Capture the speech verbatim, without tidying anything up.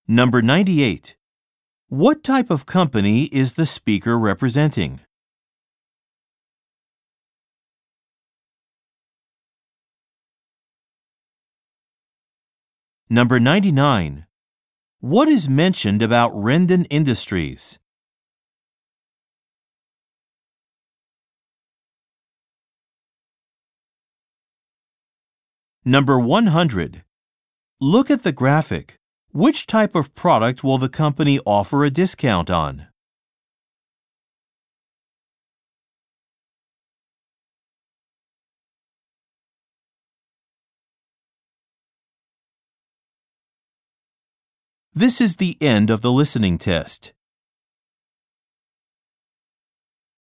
Number ninety-eight. What type of company is the speaker representing? Number ninety-nine. What is mentioned about Rendon Industries? Number one hundred. Look at the graphic. Which type of product will the company offer a discount on? This is the end of the listening test.